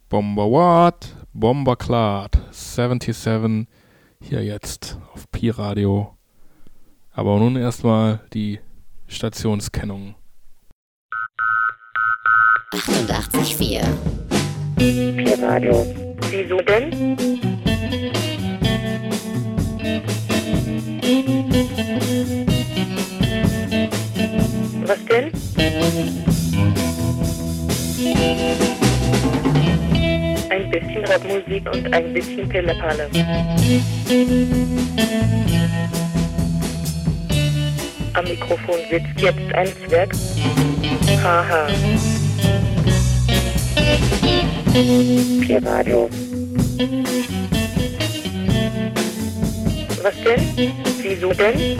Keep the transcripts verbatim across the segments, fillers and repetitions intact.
Bomber What? Bomber Clad. siebenundsiebzig. Hier jetzt auf Pi-Radio. Aber nun erstmal die Stationskennung. achtundachtzig Komma vier. Pi-Radio. Wieso denn? Was denn? Ein bisschen Rockmusik und ein bisschen Pillepalle. Am Mikrofon sitzt jetzt ein Zwerg. Haha. Pi-Radio. Was denn? Wieso denn?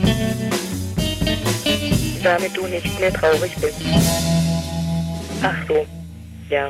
Damit du nicht mehr traurig bist. Ach so, ja.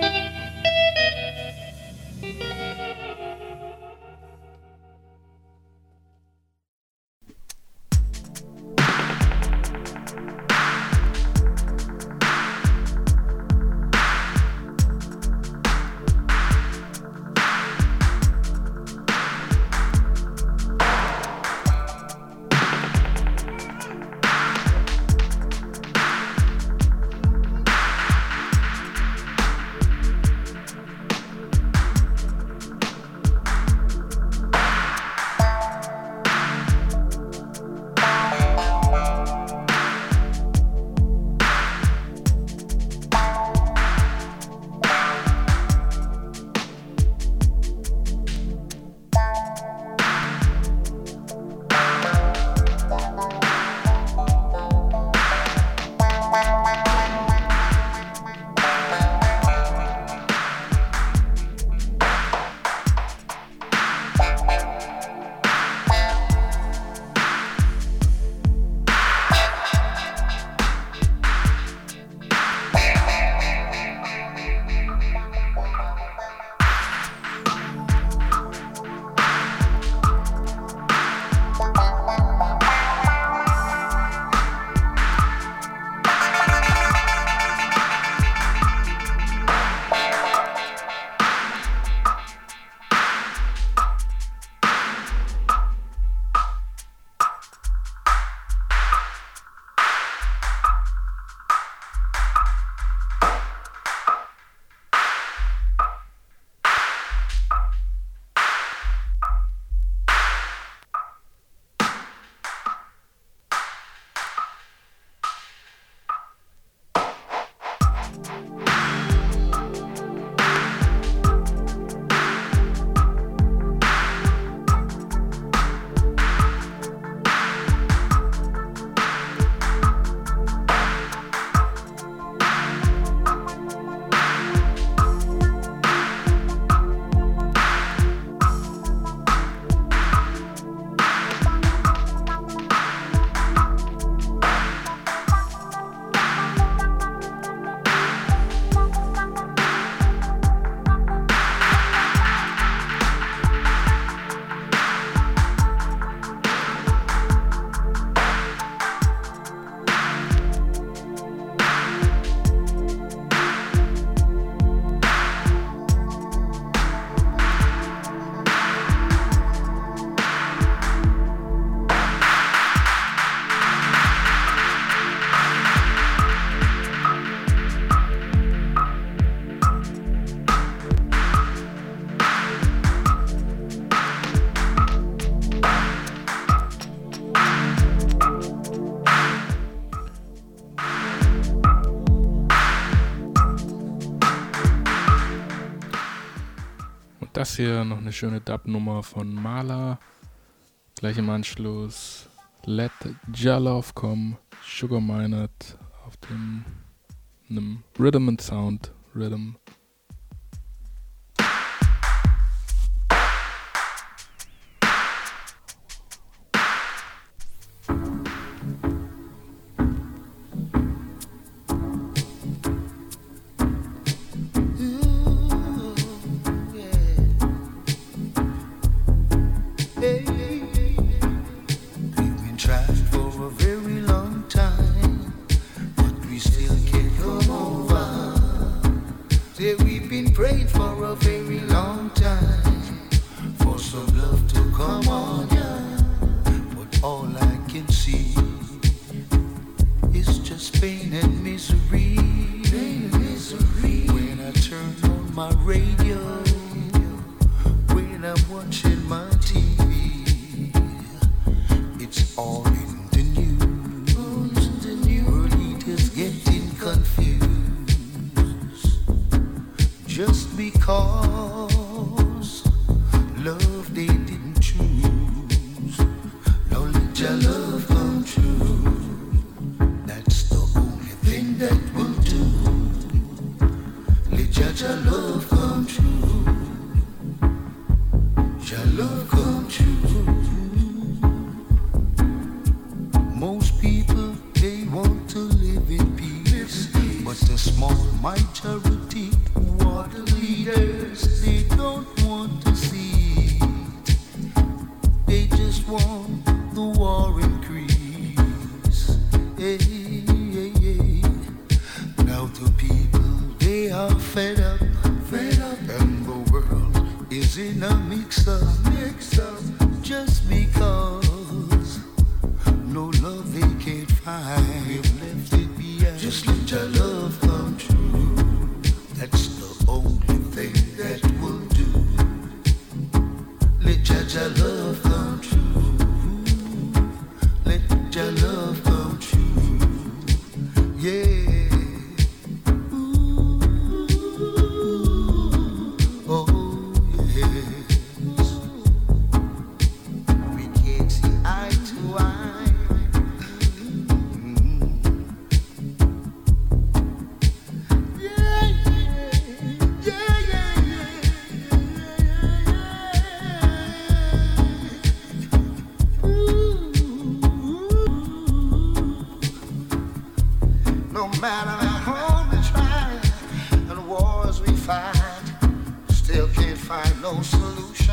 Das hier noch eine schöne Dub-Nummer von Mala. Gleich im Anschluss Let Jalov kommen, Sugar Minot auf dem einem Rhythm and Sound Rhythm. Still can't come over. been praying for a very long time for some love to come on, yeah. But all I can see is just pain and misery. Pain and misery. When I turn on my radio, when I'm watching my T V, it's all in the news. The new world is getting confused. Just because love they didn't choose, now let your love come true. That's the only thing that will do. Let your, your love come true. Your love come true. Most people, they want to live in peace, but a small majority who are the leaders, they don't want to see it. They just want the war increase. Hey, hey, hey. Now the people, they are fed up, fed up, and the world is in a mix-up, mix-up, just because no love they can't find. We've left it behind. Just let your love come true. That's the only thing that will do. Let your, your love come true. Let your love come true. Yeah. Ooh. Oh yes. We can't see eye to eye. No matter how hard we try and wars we fight, still can't find no solution.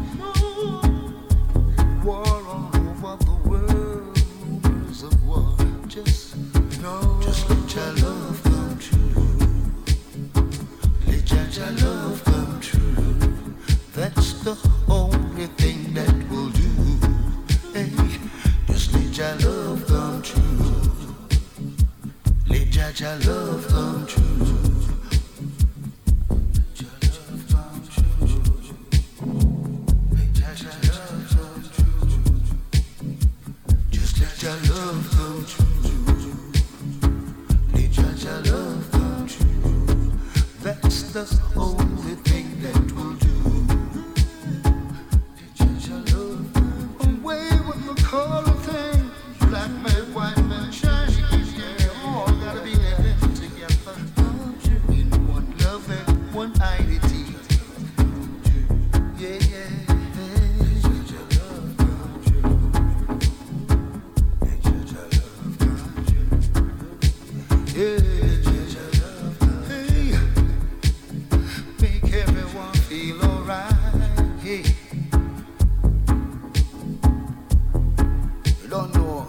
War all over the world, rumors of war. Just no, just let your love come true. Let your, your love come true. That's the only thing that will do. Hey, just let your love come true. Let your, your love come true. Your love come true. Let your, your love come true. Just let your love come true. Let your, your love come true. That's the only thing that will do. Let your, your love come true. Away with the color thing. Black man, white man, shine. One identity, yeah, yeah. Let your love come true. Let your love come true. Yeah, let your love come true. Hey, make everyone feel alright. Hey, you don't know.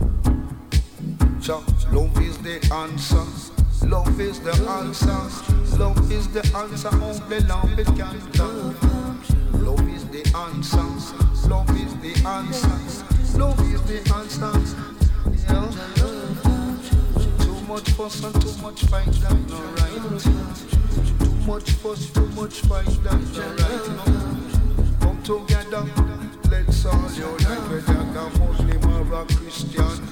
So love is the answer. Love is the answer. Love is the answer, only love it can do. Love is the answer. Love is the answer. Love is the answer. You know? Too much fuss and too much fight, that's not right. Too much fuss, too much fight, that's not right. No? Come together, let's all unite, whether a Muslim or a Christian.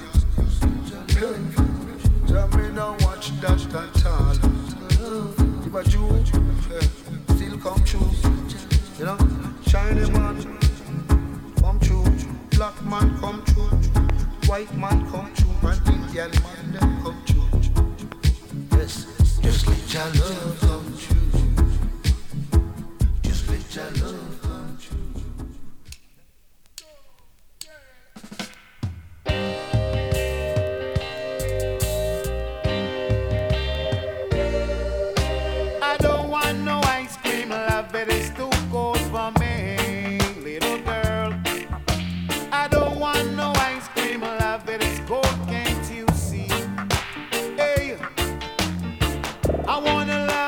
Tell me now watch that at all. If a Jew, uh, still come true. You know, Chinese man, come true. Black man come true. White man come true. And Indian man them come true. Yes, just let your love come true. Just let your love come true. I wanna love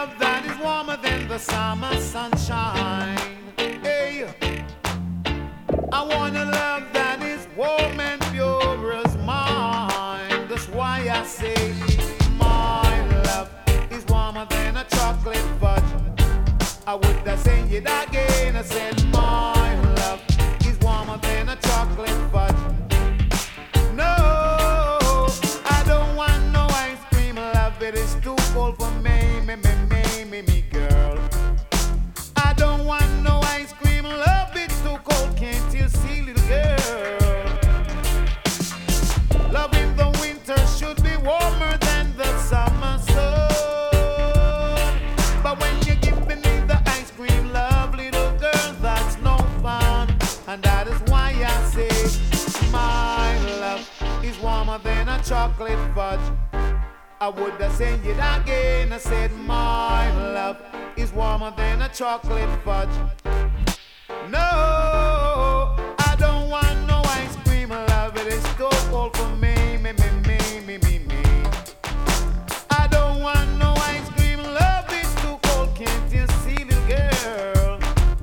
the summer sunshine. Hey, I want a love that is warm and pure as mine. That's why I say my love is warmer than a chocolate fudge. I would have said it again. I said my love is warmer than a chocolate fudge. No, I don't want no ice cream love. It is too cold for me, me, me, me, me, me, girl. I don't want no ice cream love. It's too cold, can't you see, little girl? Love in the winter should be warmer than the summer sun. But when you give me the ice cream love, little girl, that's no fun. And that is why I say my love is warmer than a chocolate fudge. I would have said it again. I said my love is warmer than a chocolate fudge. No, I don't want no ice cream love. It is too cold for me, me, me, me, me, me, me. I don't want no ice cream love. It's too cold, can't you see, little girl?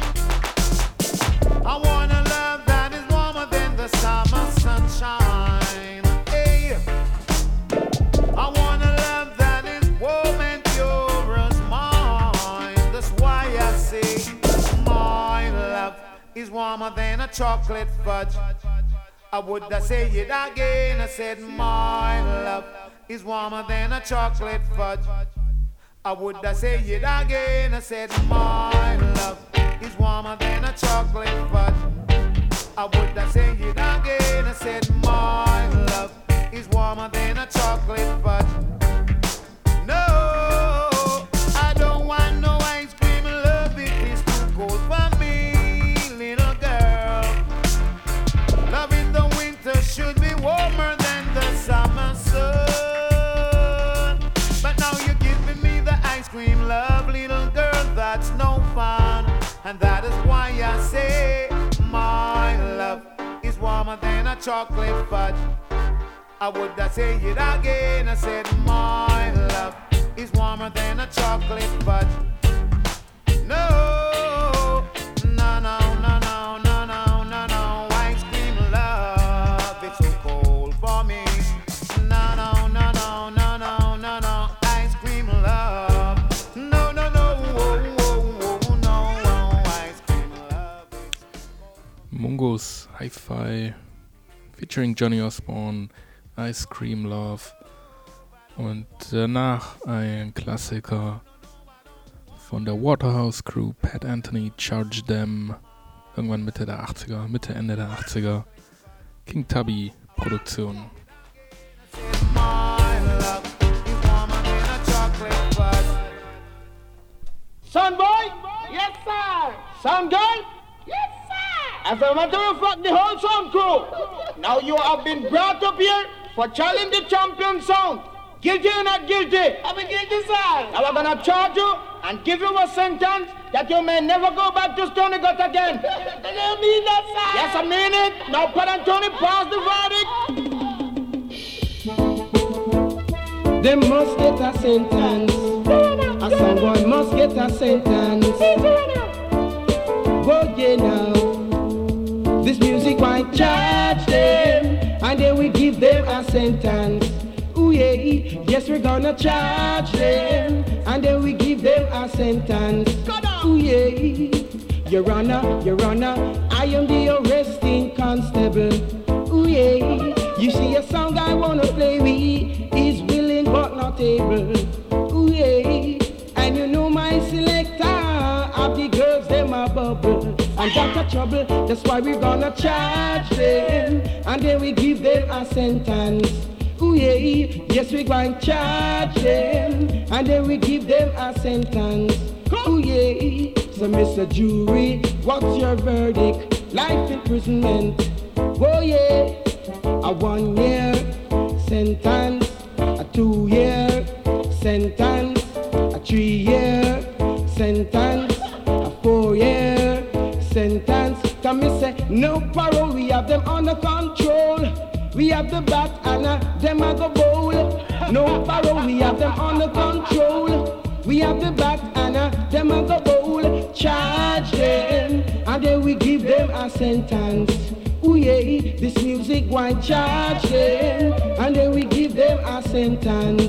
I want a love that is warmer than the summer sunshine. Hey, I want a love that is warm and pure as mine. That's why I say my love is warmer than a chocolate fudge. I would have said it again. I said my love is warmer than a chocolate fudge. I would have said it again. I said my love is warmer than a chocolate fudge. I would have said it again. I said my love is warmer than a chocolate fudge. No, I don't want no ice cream love. It is too cold for me, little girl. Love in the winter should be warmer than the summer sun. But now you're giving me the ice cream love, little girl, that's no fun. And that is why I say my love is warmer than a chocolate fudge. I would have said it again. I said my love is warmer than a chocolate fudge. No, no, no, no, no, no, no, no, no. Ice cream love, it's so cold for me. No, no, no, no, no, no, no, no. Ice cream love. No, no, no, oh, oh, oh, no, ice cream love. Mungos Hi-Fi featuring Johnny Osborne, Ice Cream Love. Und danach ein Klassiker von der Waterhouse Crew, Pat Anthony, Charge Them, irgendwann Mitte der achtziger, Mitte, Ende der achtziger. King Tubby Produktion. Son boy? Yes, sir. Son girl? Yes, sir. As a matter of fact, the whole sound crew. Now you have been brought up here for challenging the champion sound. Guilty or not guilty? I'm guilty, sir. Now we're gonna charge you and give you a sentence that you may never go back to Stony Gut again. Do you mean that, sir? Yes, I mean it. Now, Pat Anthony, pass the verdict. They must get a sentence. A someone must get a sentence. Oh yeah now. This music might charge them, and then we give them a sentence. Ooh yeah, yes we're gonna charge them, and then we give them a sentence. Ooh yeah, Your Honor, Your Honor, I am the arresting constable. Ooh yeah, you see a song I wanna play with is willing but not able. Ooh yeah, and you know my selector of the girls them a bubble. And that's a trouble, that's why we're gonna charge them, and then we give them a sentence. Ooh yeah, yes we going to charge them, and then we give them a sentence. Ooh yeah, so Mister Jury, what's your verdict? Life imprisonment. Oh yeah, a one year sentence, a two year sentence, a three year sentence, a four year sentence. Come me say no parole, we have them under control. We have the bat and uh, them a go bowl. No parole, we have them under control. we have the bat and uh, them a go bowl, charge them, and then we give them a sentence. Ooh yeah, this music why charge them, and then we give them a sentence.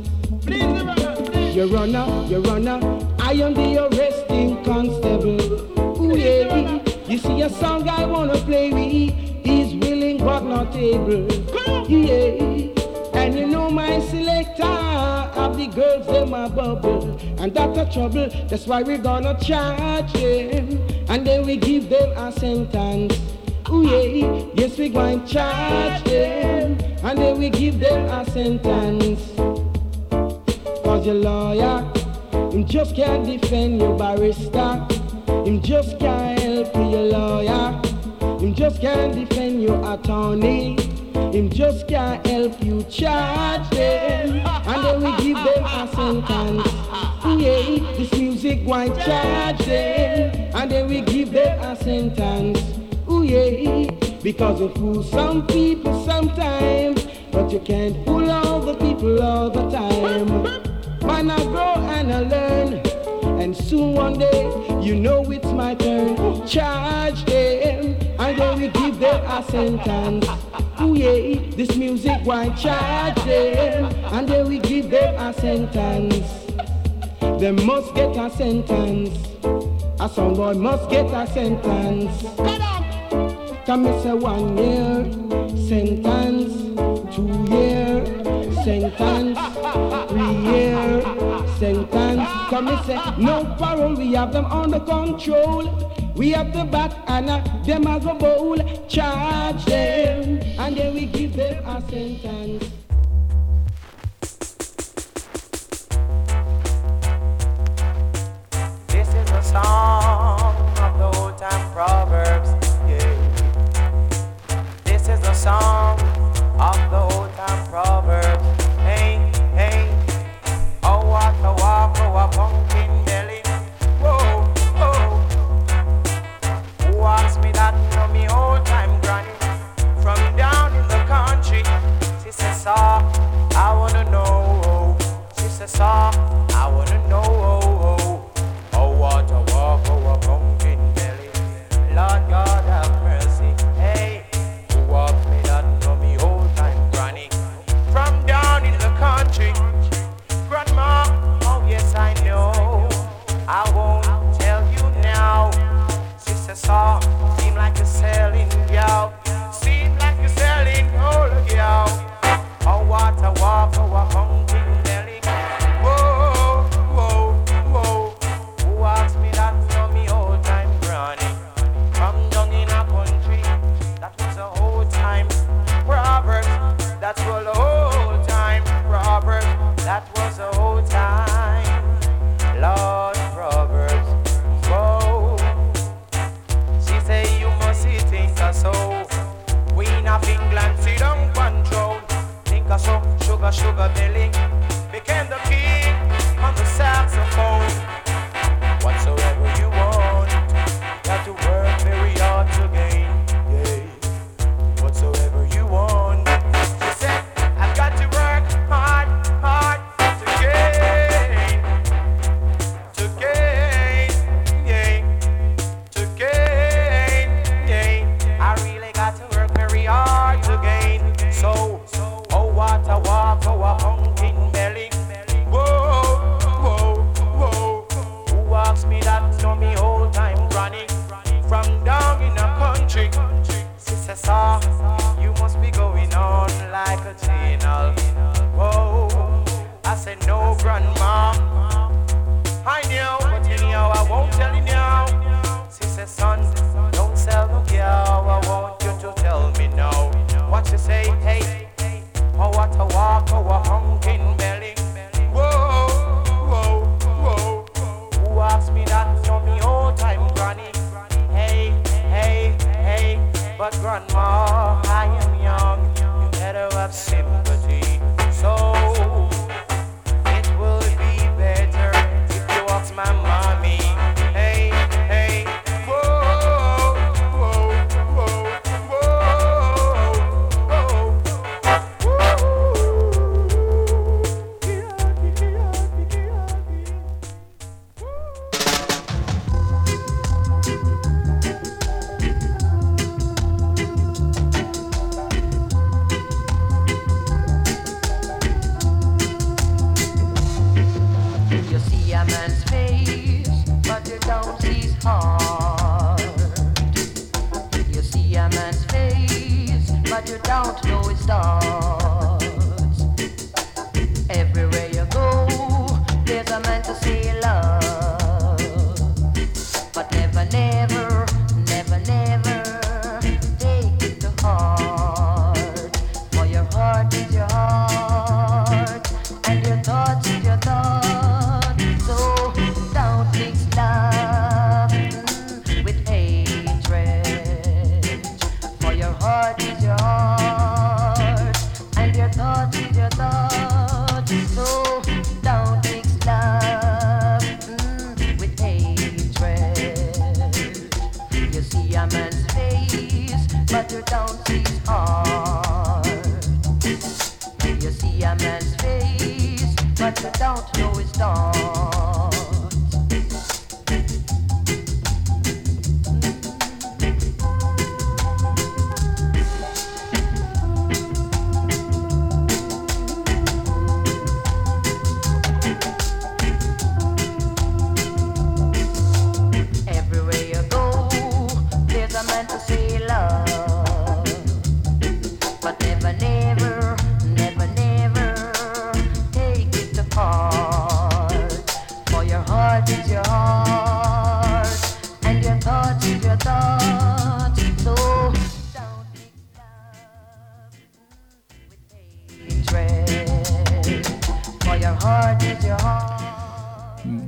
Your runner, your runner, I am the arresting constable. Ooh yeah, you see a song I wanna play with, he's willing but not able. Yeah, and you know my selector of the girls them a bubble, and that's a trouble. That's why we're gonna charge them, and then we give them a sentence. Ooh yeah, yes we going charge them, and then we give them a sentence. Cause your lawyer, him just can't defend your barrister. Him just can't help you, your lawyer. Him just can't defend your attorney. Him just can't help you charge them, and then we give them a sentence. Yeah, this music why charge them, and then we give them a sentence. Ooh yeah, because you fool some people sometimes, but you can't fool all the people all the time. Man, I grow and I learn, and soon one day, you know it's my turn. Charge them, and then we give them a sentence. Ooh yeah, this music why charge them, and then we give them a sentence. They must get a sentence. A song boy must get a sentence. Come and say one year sentence, two year sentence, three year sentence. Come and say no parole, we have them under control. We have the bat and uh, them as a bowl, charge them, and then we give them a sentence. This is a song of the old time proverbs. This is a song of the old time proverbs. Hey, hey, oh what a walk, oh a pumpkin belly. Whoa, whoa. Who asked me that from me old time granny? From down in the country. She says, saw, I wanna know. She says, saw, I wanna know. Oh, oh what a walk, oh a pumpkin belly. Lord God have mercy. Hey. Walk me that know me old time granny from down in the country. Grandma, oh yes I know, I won't tell you now. Sister saw, seem like you're selling gal, seem like you're selling all of gal. Oh what a walk, oh a pumpkin belly. Whoa, whoa, whoa. Who asked me that know me old time granny from down in a country? That was a whole time Proverbs. That was a whole time Proverbs. That was a whole time Lord Proverbs. Whoa. She say you must see think a so. Queen of England sit down control. Think a so sugar sugar belly. Became the king on the saxophone. Whatsoever you want, got to work very hard to gain. Whatsoever you want. She said, I've got to work hard, hard to gain, to gain, yeah, to gain, yeah. I really got to work very hard to gain. So, oh what a walk, oh a pumpkin belly. Whoa, whoa, whoa. Who asked me that know me old time granny from down in the country? Sister saw, you must be going on like a channel. Whoa, I said no grandma. I knew, but anyhow I won't tell you now. Sister son, don't sell no girl. I want you to tell me now. What you say, hey, oh what a walk, oh a pumpkin belly. Whoa, whoa, whoa. Who asked me that know me old time granny? Hey, hey, hey. But grandma, I am young, you better have sympathy. So, it will be better if you ask my mommy. Hey, hey, whoa, whoa, whoa, whoa, whoa, whoa.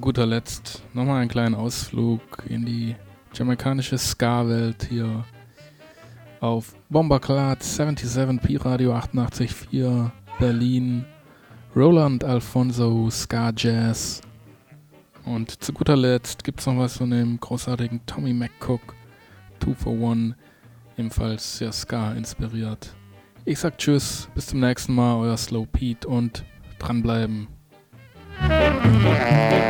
guter Letzt nochmal einen kleinen Ausflug in die jamaikanische Ska-Welt hier auf Bomberclad siebenundsiebzig Pi Radio achtundachtzig Komma vier Berlin, Roland Alfonso Ska Jazz. Und zu guter Letzt gibt's noch was von dem großartigen Tommy McCook, Two for One, ebenfalls sehr Ska inspiriert. Ich sag Tschüss, bis zum nächsten Mal, euer Slow Pete und dranbleiben. Yeah.